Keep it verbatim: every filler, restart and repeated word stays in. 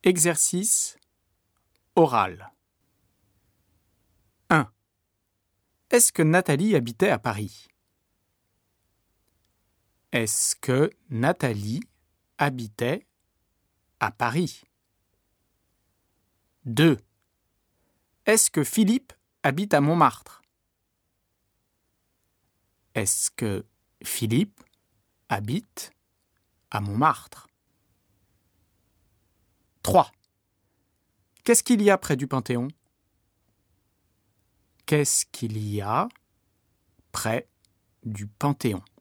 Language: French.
Exercice oral. un. Est-ce que Nathalie habitait à Paris? Est-ce que Nathalie habitait à Paris? deux. Est-ce que Philippe habite à Montmartre? Est-ce que Philippe habite à Montmartre? trois. Qu'est-ce qu'il y a près du Panthéon? Qu'est-ce qu'il y a près du Panthéon?